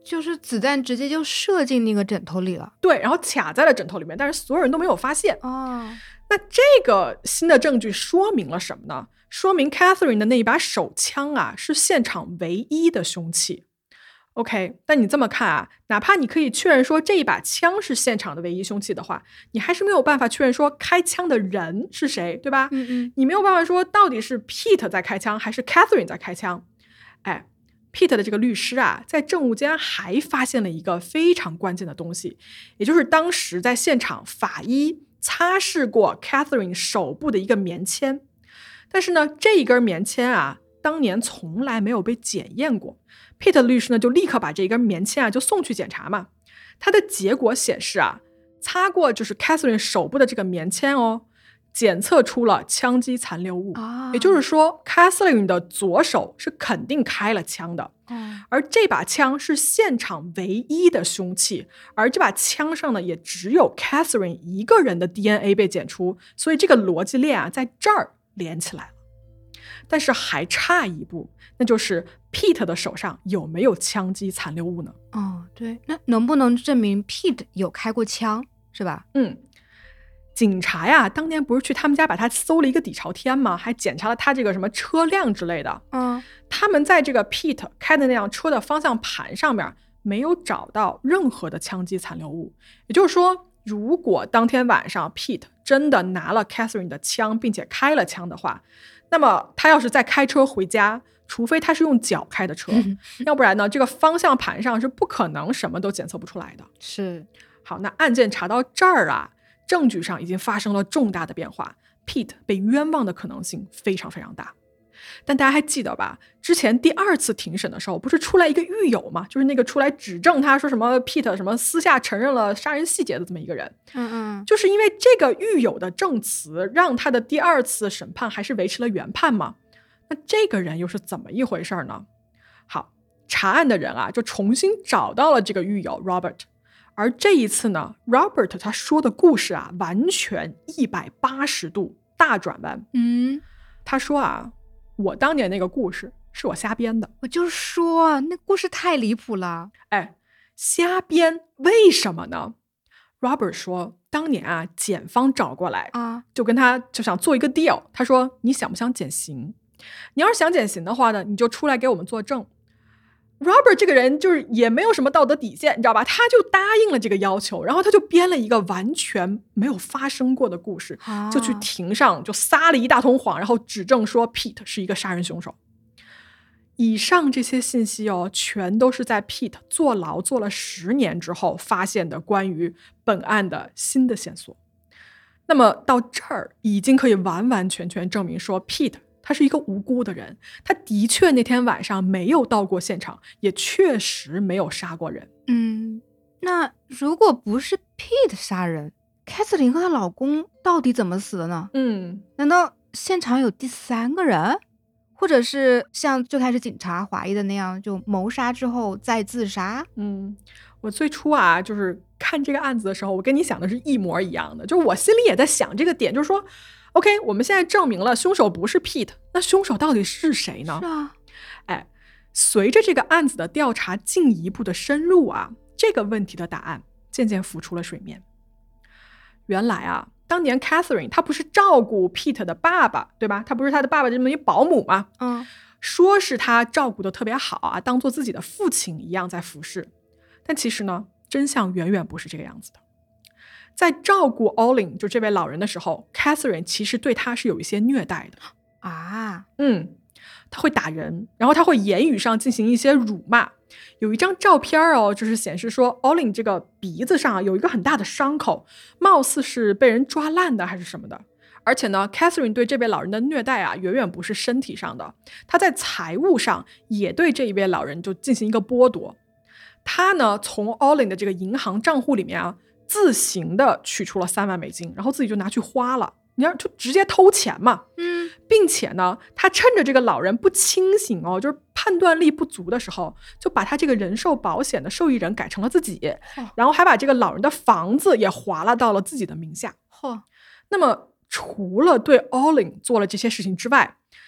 就是子弹直接就射进那个枕头里了。 对，然后卡在了枕头里面，但是所有人都没有发现。 哦， 那这个新的证据说明了什么呢？说明 Catherine 的那一把手枪啊，是现场唯一的凶器。OK， 但你这么看啊，哪怕你可以确认说这一把枪是现场的唯一凶器的话，你还是没有办法确认说开枪的人是谁，对吧？ 嗯嗯， 你没有办法说到底是 Pete 在开枪还是 Catherine 在开枪。哎 ，Pete 的这个律师啊，在证物间还发现了一个非常关键的东西，也就是当时在现场法医擦拭过 Catherine 手部的一个棉签。但是呢，这一根棉签啊，当年从来没有被检验过。Pete 的律师呢，就立刻把这根棉签啊就送去检查嘛。他的结果显示啊，擦过就是 Catherine 手部的这个棉签哦，检测出了枪击残留物。 啊， 也就是说 Catherine 的左手是肯定开了枪的。 哦， 而这把枪是现场唯一的凶器，而这把枪上呢，也只有 Catherine 一个人的 D N A 被检出，所以这个逻辑链啊，在这儿连起来了。但是还差一步，那就是 Pete 的手上有没有枪击残留物呢？ 哦，对，那能不能证明 Pete 有开过枪，是吧？ 嗯，警察呀，当年不是去他们家把他搜了一个底朝天吗？还检查了他这个什么车辆之类的。 嗯， 他们在这个 Pete 开的那辆车的方向盘上面没有找到任何的枪击残留物。也就是说，如果当天晚上 Pete 真的拿了 Catherine 的枪，并且开了枪的话，那么他要是再开车回家，除非他是用脚开的车，要不然呢，这个方向盘上是不可能什么都检测不出来的。 是。 好，那案件查到这儿啊，证据上已经发生了重大的变化， Pete 被冤枉的可能性非常非常大。但大家还记得吧？之前第二次庭审的时候，不是出来一个狱友嘛？就是那个出来指证他说什么 Pete 什么私下承认了杀人细节的这么一个人。 嗯嗯， 就是因为这个狱友的证词，让他的第二次审判还是维持了原判嘛？那这个人又是怎么一回事呢？好，查案的人啊，就重新找到了这个狱友 Robert。而这一次呢 ，Robert 他说的故事啊，完全一百八十度大转弯。 嗯， 他说啊，我当年那个故事是我瞎编的。 我就说那故事太离谱了。 哎，瞎编为什么呢？ Robert 说，当年啊，检方找过来啊， 就跟他就想做一个 deal。他说，你想不想减刑？你要是想减刑的话呢，你就出来给我们作证。Robert 这个人就是也没有什么道德底线，你知道吧？他就答应了这个要求，然后他就编了一个完全没有发生过的故事， 啊、 就去庭上就撒了一大通谎，然后指证说 Pete 是一个杀人凶手。以上这些信息哦，全都是在 Pete 坐牢坐了十年之后发现的关于本案的新的线索。那么到这儿已经可以完完全全证明说 Pete他是一个无辜的人，他的确那天晚上没有到过现场，也确实没有杀过人。 嗯，那如果不是 Pete 杀人，凯瑟琳和她老公到底怎么死的呢？ 嗯， 难道现场有第三个人？或者是像最开始警察怀疑的那样，就谋杀之后再自杀？ 嗯，我最初啊，就是看这个案子的时候，我跟你想的是一模一样的，就是我心里也在想这个点，就是说 OK， 我们现在证明了凶手不是 Pete， 那凶手到底是谁呢？ 是啊， 哎，随着这个案子的调查进一步的深入啊，这个问题的答案渐渐浮出了水面。原来啊，当年 Catherine 她不是照顾 Pete 的爸爸，对吧？她不是他的爸爸这么一保姆吗？ 嗯， 说是他照顾的特别好啊，当做自己的父亲一样在服侍。但其实呢，真相远远不是这个样子的。在照顾 Olin 就这位老人的时候， Catherine 其实对他是有一些虐待的啊， 嗯，他会打人，然后他会言语上进行一些辱骂。有一张照片哦，就是显示说 Olin 这个鼻子上有一个很大的伤口，貌似是被人抓烂的还是什么的。而且呢 Catherine 对这位老人的虐待啊，远远不是身体上的，他在财务上也对这一位老人就进行一个剥夺。他呢从 Olin 的这个银行账户里面啊，自行的取出了三万美金，然后自己就拿去花了，你要就直接偷钱嘛。 嗯， 并且呢，他趁着这个老人不清醒哦，就是判断力不足的时候，就把他这个人寿保险的受益人改成了自己， 哦、 然后还把这个老人的房子也划拉到了自己的名下。 嚯、哦！ 那么除了对 Olin 做了这些事情之外，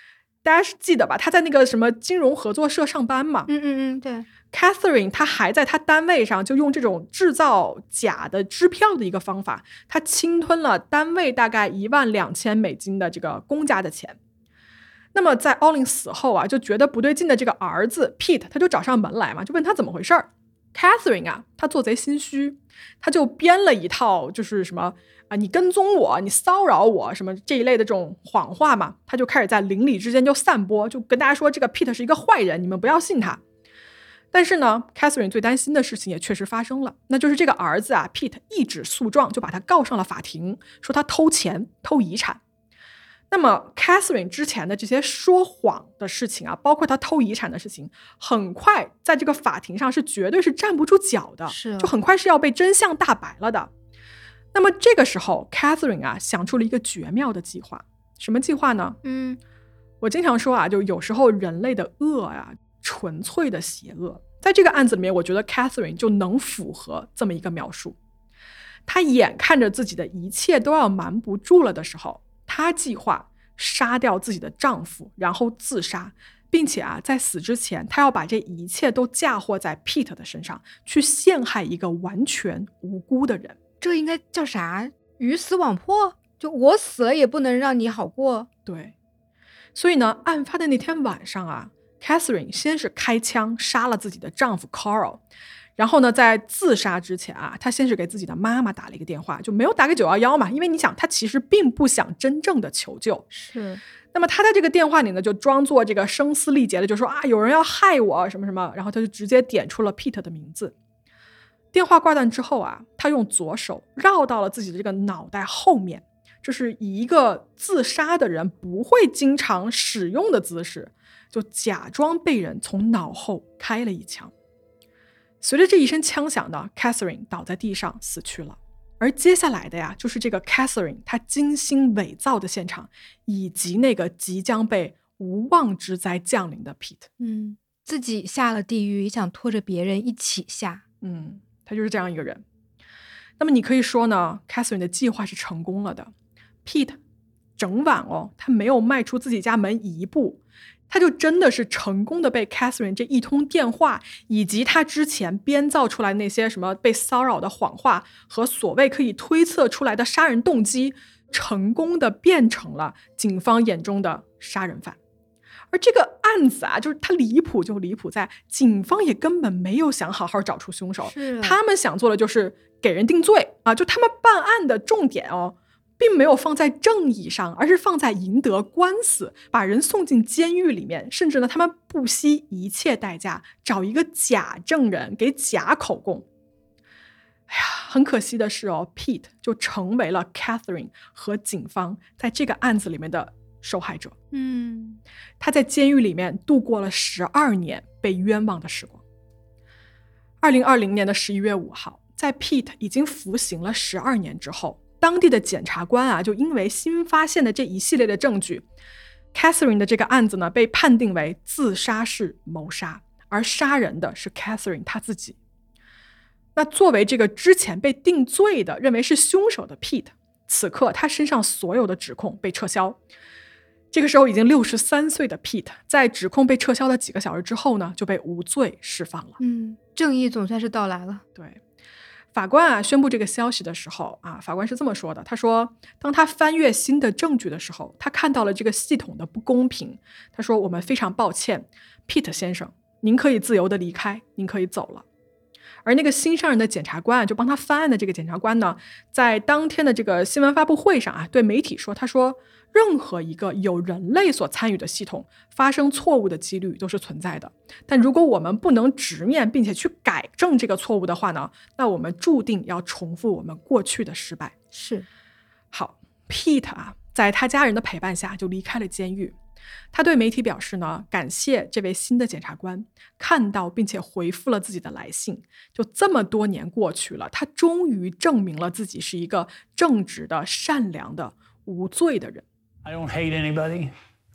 大家记得吧？他在那个什么金融合作社上班嘛。 嗯嗯嗯，对。 Catherine 她还在她单位上就用这种制造假的支票的一个方法，她侵吞了单位大概一万两千美金的这个公家的钱。那么在 Olin 死后啊，就觉得不对劲的这个儿子 Pete 他就找上门来嘛，就问他怎么回事儿。Catherine 啊，她做贼心虚，她就编了一套就是什么啊，你跟踪我，你骚扰我，什么这一类的这种谎话嘛，她就开始在邻里之间就散播，就跟大家说这个 Pete 是一个坏人，你们不要信他。但是呢 Catherine 最担心的事情也确实发生了，那就是这个儿子啊 Pete 一纸诉状就把他告上了法庭，说他偷钱偷遗产。那么 Catherine 之前的这些说谎的事情啊，包括他偷遗产的事情，很快在这个法庭上是绝对是站不住脚的， 是就很快是要被真相大白了的。那么这个时候 Catherine 啊想出了一个绝妙的计划。什么计划呢？ 嗯， 我经常说啊，就有时候人类的恶啊纯粹的邪恶，在这个案子里面我觉得 Catherine 就能符合这么一个描述。她眼看着自己的一切都要瞒不住了的时候，她计划杀掉自己的丈夫，然后自杀，并且啊，在死之前，她要把这一切都嫁祸在 Pete 的身上，去陷害一个完全无辜的人。 这应该叫啥？鱼死网破？就我死了也不能让你好过。 对，所以呢，案发的那天晚上啊 Catherine 先是开枪杀了自己的丈夫 Carl，然后呢，在自杀之前啊，她先是给自己的妈妈打了一个电话，就没有打给九一一嘛，因为你想，她其实并不想真正的求救。 是。 那么她在这个电话里呢，就装作这个声嘶力竭的，就说啊，有人要害我什么什么，然后她就直接点出了 Pete 的名字。电话挂断之后啊，她用左手绕到了自己的这个脑袋后面，就是以一个自杀的人不会经常使用的姿势，就假装被人从脑后开了一枪。随着这一声枪响呢 Catherine 倒在地上死去了。而接下来的呀，就是这个 Catherine 她精心伪造的现场，以及那个即将被无妄之灾降临的 Pete。 嗯，自己下了地狱也想拖着别人一起下。 嗯，他就是这样一个人。那么你可以说呢 Catherine 的计划是成功了的。 Pete 整晚哦，他没有迈出自己家门一步，他就真的是成功的被 Catherine 这一通电话，以及他之前编造出来那些什么被骚扰的谎话和所谓可以推测出来的杀人动机，成功的变成了警方眼中的杀人犯。而这个案子啊，就是它离谱就离谱在警方也根本没有想好好找出凶手，他们想做的就是给人定罪啊，就他们办案的重点哦，并没有放在正义上，而是放在赢得官司，把人送进监狱里面，甚至呢，他们不惜一切代价找一个假证人给假口供。哎呀，很可惜的是哦 Pete 就成为了 Catherine 和警方在这个案子里面的受害者。 嗯， 他在监狱里面度过了十二年被冤枉的时光。二零二零年的十一月五号，在 Pete 已经服刑了十二年之后，当地的检察官啊，就因为新发现的这一系列的证据， Catherine 的这个案子呢，被判定为自杀式谋杀，而杀人的是 Catherine 她自己。那作为这个之前被定罪的，认为是凶手的 Pete， 此刻他身上所有的指控被撤销。这个时候已经六十三岁的 Pete 在指控被撤销的几个小时之后呢，就被无罪释放了。 嗯，正义总算是到来了。 对，法官啊宣布这个消息的时候啊，法官是这么说的，他说当他翻阅新的证据的时候，他看到了这个系统的不公平。他说我们非常抱歉 Pete 先生，您可以自由的离开，您可以走了。而那个新上任的检察官啊，就帮他翻案的这个检察官呢，在当天的这个新闻发布会上啊，对媒体说，他说任何一个有人类所参与的系统发生错误的几率都是存在的，但如果我们不能直面并且去改正这个错误的话呢，那我们注定要重复我们过去的失败。 是。 好 Pete 啊，在他家人的陪伴下就离开了监狱。他对媒体表示呢，感谢这位新的检察官看到并且回复了自己的来信。就这么多年过去了，他终于证明了自己是一个正直的、善良的、无罪的人。 I don't hate anybody.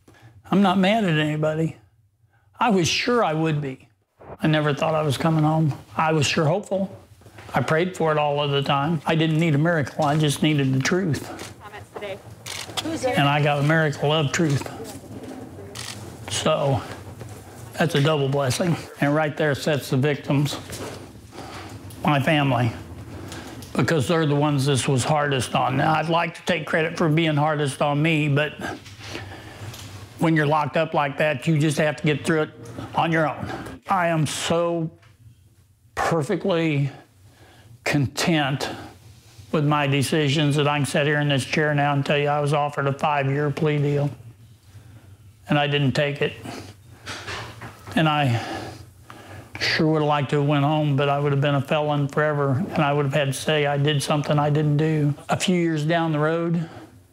I'm not mad at anybody. I was sure I would be. I never thought I was coming home. I was sure hopeful. I prayed for it all of the time. I didn't need a miracle. I just needed the truth. And I got a miracle of truth. So that's a double blessing. And right there sets the victims, my family, because they're the ones this was hardest on. Now, I'd like to take credit for being hardest on me, but when you're locked up like that, you just have to get through it on your own. I am so perfectly content with my decisions that I can sit here in this chair now and tell you I was offered a five-year plea deal, and I didn't take it. And I sure would have liked to have went home, but I would have been a felon forever, and I would have had to say I did something I didn't do. A few years down the road,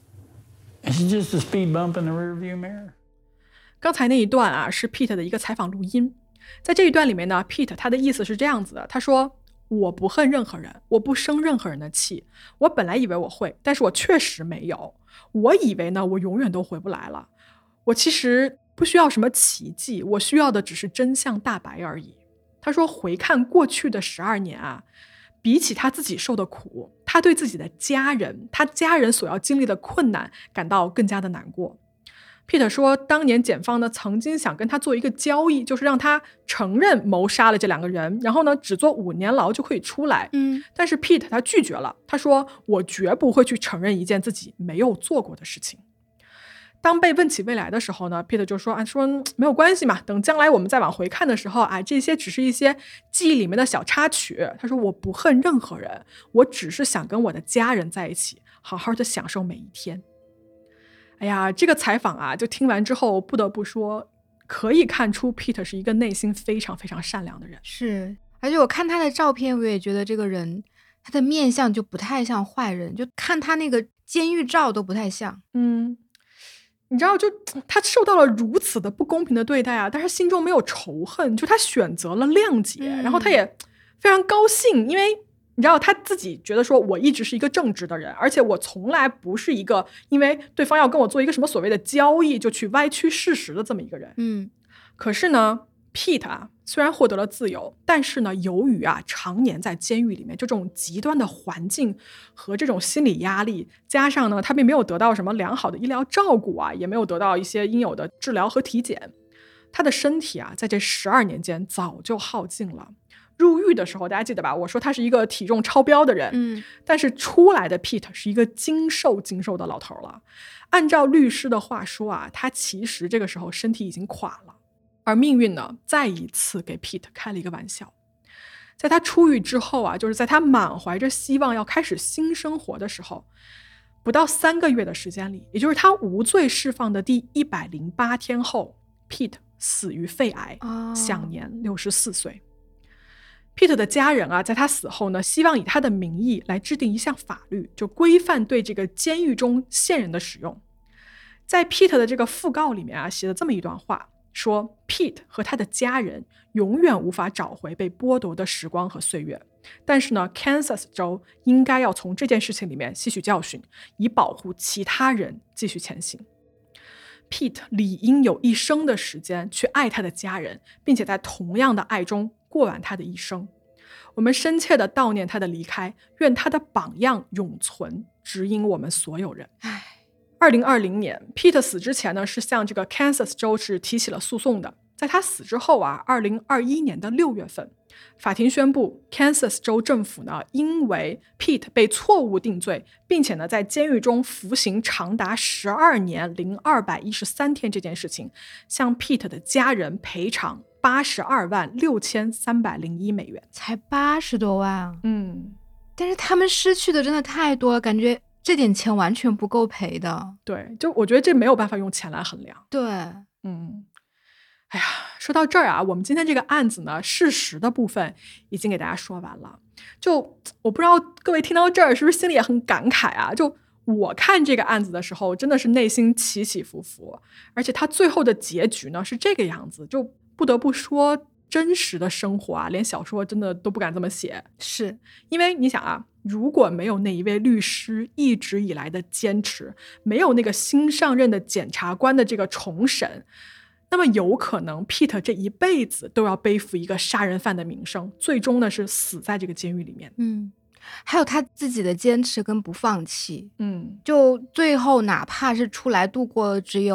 it's just a speed bump in the rearview mirror. 刚才那一段啊，是 Pete 的一个采访录音。在这一段里面呢 Pete 他的意思是这样子的，他说我不恨任何人，我不生任何人的气，我本来以为我会，但是我确实没有。我以为呢我永远都回不来了，我其实不需要什么奇迹，我需要的只是真相大白而已。他说回看过去的十二年啊，比起他自己受的苦，他对自己的家人，他家人所要经历的困难感到更加的难过。Pete 说当年检方呢曾经想跟他做一个交易，就是让他承认谋杀了这两个人，然后呢只做五年牢就可以出来。 嗯， 但是 Pete 他拒绝了，他说我绝不会去承认一件自己没有做过的事情。当被问起未来的时候呢 Pete 就说啊，说没有关系嘛，等将来我们再往回看的时候啊，这些只是一些记忆里面的小插曲。他说我不恨任何人，我只是想跟我的家人在一起，好好的享受每一天。哎呀，这个采访啊，就听完之后不得不说，可以看出 Pete 是一个内心非常非常善良的人。 是，而且我看他的照片，我也觉得这个人他的面相就不太像坏人，就看他那个监狱照都不太像。 嗯，你知道，就他受到了如此的不公平的对待啊，但是心中没有仇恨，就他选择了谅解，嗯、然后他也非常高兴，因为你知道他自己觉得说我一直是一个正直的人，而且我从来不是一个因为对方要跟我做一个什么所谓的交易就去歪曲事实的这么一个人。 嗯， 可是呢 Pete 啊，虽然获得了自由，但是呢由于啊常年在监狱里面，就这种极端的环境和这种心理压力，加上呢他并没有得到什么良好的医疗照顾啊，也没有得到一些应有的治疗和体检，他的身体啊在这十二年间早就耗尽了。入狱的时候大家记得吧，我说他是一个体重超标的人， 嗯， 但是出来的 Pete 是一个精瘦精瘦的老头了。按照律师的话说啊，他其实这个时候身体已经垮了。而命运呢再一次给 Pete 开了一个玩笑。在他出狱之后啊，就是在他满怀着希望要开始新生活的时候，不到三个月的时间里，也就是他无罪释放的第一百零八天后， Pete 死于肺癌， 哦、 享年六十四岁。Pete 的家人啊，在他死后呢，希望以他的名义来制定一项法律，就规范对这个监狱中线人的使用。在 Pete 的这个讣告里面啊，写了这么一段话，说 Pete 和他的家人永远无法找回被剥夺的时光和岁月，但是呢 Kansas 州应该要从这件事情里面吸取教训，以保护其他人继续前行。Pete 理应有一生的时间去爱他的家人，并且在同样的爱中过完他的一生。我们深切地悼念他的离开，愿他的榜样永存，指引我们所有人。二零二零年 Pete 死之前呢，是向这个 Kansas 州是提起了诉讼的。在他死之后啊，二零二一年的六月份，法庭宣布 Kansas 州政府呢，因为 Pete 被错误定罪，并且呢在监狱中服刑长达十二年零二百一十三天这件事情，向 Pete 的家人赔偿八十二万六千三百零一美元， 才八十多万啊！ 嗯， 但是他们失去的真的太多了，感觉这点钱完全不够赔的。 对，就我觉得这没有办法用钱来衡量。 对， 嗯。哎呀，说到这儿啊，我们今天这个案子呢，事实的部分已经给大家说完了。就我不知道各位听到这儿是不是心里也很感慨啊？就我看这个案子的时候，真的是内心起起伏伏，而且它最后的结局呢是这个样子，就不得不说真实的生活啊，连小说真的都不敢这么写。 是因为你想啊，如果没有那一位律师一直以来的坚持，没有那个新上任的检察官的这个重审，那么有可能 Pete 这一辈子都要背负一个杀人犯的名声，最终呢是死在这个监狱里面。 嗯，还有他自己的坚持跟不放弃。 嗯， 就最后哪怕是出来度过只有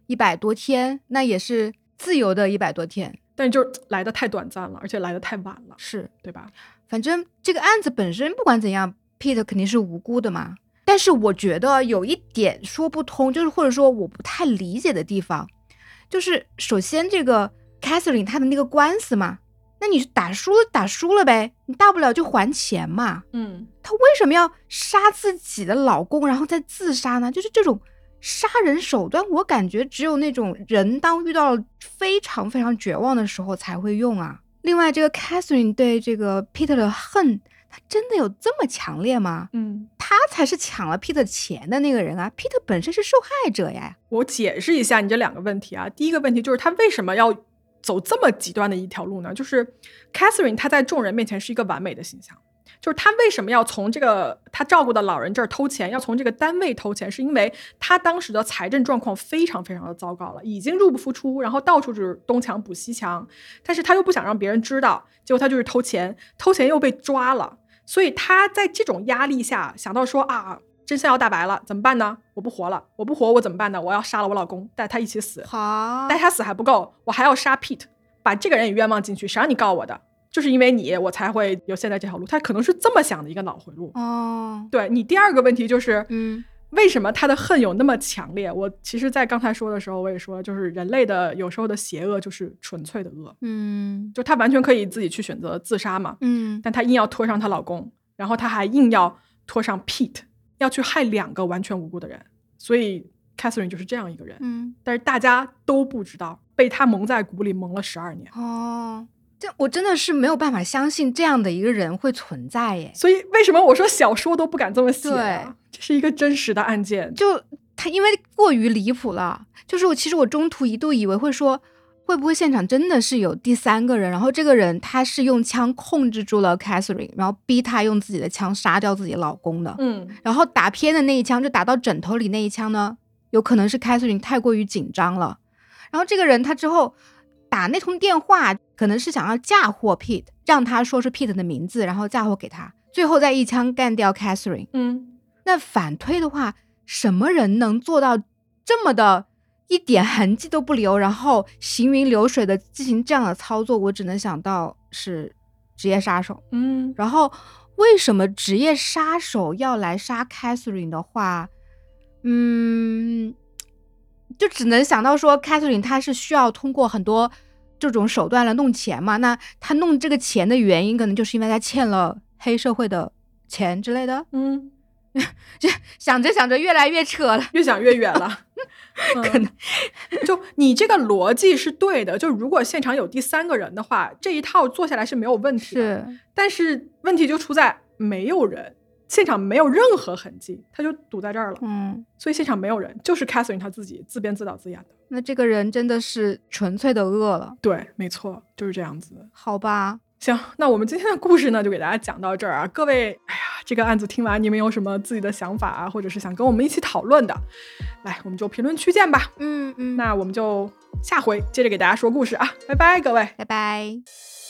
一百多天，那也是自由的一百多天， 但就来的太短暂了，而且来的太晚了， 是对吧？ 反正这个案子本身不管怎样 Pete 肯定是无辜的嘛，但是我觉得有一点说不通，就是或者说我不太理解的地方，就是首先这个 Catherine 她的那个官司嘛，那你打输了打输了呗，你大不了就还钱嘛。 嗯， 她为什么要杀自己的老公然后再自杀呢？就是这种杀人手段，我感觉只有那种人当遇到了非常非常绝望的时候才会用啊。另外这个 Catherine 对这个 Peter 的恨，他真的有这么强烈吗？ 嗯， 他才是抢了 Peter 钱的那个人啊 Peter 本身是受害者呀。 我解释一下你这两个问题啊。第一个问题就是他为什么要走这么极端的一条路呢？就是 Catherine 她在众人面前是一个完美的形象，就是他为什么要从这个他照顾的老人这儿偷钱，要从这个单位偷钱，是因为他当时的财政状况非常非常的糟糕了，已经入不敷出，然后到处就是东墙补西墙，但是他又不想让别人知道，结果他就是偷钱，偷钱又被抓了，所以他在这种压力下想到说啊，真相要大白了，怎么办呢？我不活了，我不活我怎么办呢？我要杀了我老公，带他一起死。 好， 带他死还不够，我还要杀 Pete， 把这个人也冤枉进去，谁让你告我的？就是因为你，我才会有现在这条路。他可能是这么想的一个脑回路。 哦， 对，你第二个问题就是， 嗯， 为什么他的恨有那么强烈？我其实在刚才说的时候我也说，就是人类的有时候的邪恶就是纯粹的恶。 嗯， 就他完全可以自己去选择自杀嘛， 嗯， 但他硬要拖上她老公，然后他还硬要拖上 Pete， 要去害两个完全无辜的人。所以 Catherine 就是这样一个人。 嗯， 但是大家都不知道，被他蒙在鼓里蒙了十二年。 哦，这我真的是没有办法相信这样的一个人会存在耶。 所以为什么我说小说都不敢这么写啊？ 对， 这是一个真实的案件。 就他因为过于离谱了，就是我其实我中途一度以为会说，会不会现场真的是有第三个人，然后这个人他是用枪控制住了 Catherine， 然后逼他用自己的枪杀掉自己老公的。 嗯， 然后打偏的那一枪就打到枕头里那一枪呢，有可能是 Catherine 太过于紧张了，然后这个人他之后打那通电话可能是想要嫁祸 Pete， 让他说出 Pete 的名字，然后嫁祸给他，最后再一枪干掉 Catherine。 嗯， 那反推的话，什么人能做到这么的一点痕迹都不留，然后行云流水的进行这样的操作？我只能想到是职业杀手。 嗯， 然后为什么职业杀手要来杀 Catherine 的话，嗯，就只能想到说 Catherine 她是需要通过很多这种手段来弄钱嘛，那她弄这个钱的原因可能就是因为她欠了黑社会的钱之类的。 嗯， 就想着想着越来越扯了， 越想越远了。 可能、 嗯、就你这个逻辑是对的，就如果现场有第三个人的话，这一套做下来是没有问题的。 是， 但是问题就出在没有人，现场没有任何痕迹，他就堵在这儿了。 嗯， 所以现场没有人，就是 Catherine 他自己自编自导自演的。 那这个人真的是纯粹的恶了。 对，没错，就是这样子。 好吧， 行，那我们今天的故事呢，就给大家讲到这儿啊。各位，哎呀，这个案子听完，你们有什么自己的想法啊，或者是想跟我们一起讨论的，来，我们就评论区见吧。 嗯嗯， 那我们就下回接着给大家说故事啊，拜拜，各位， 拜拜。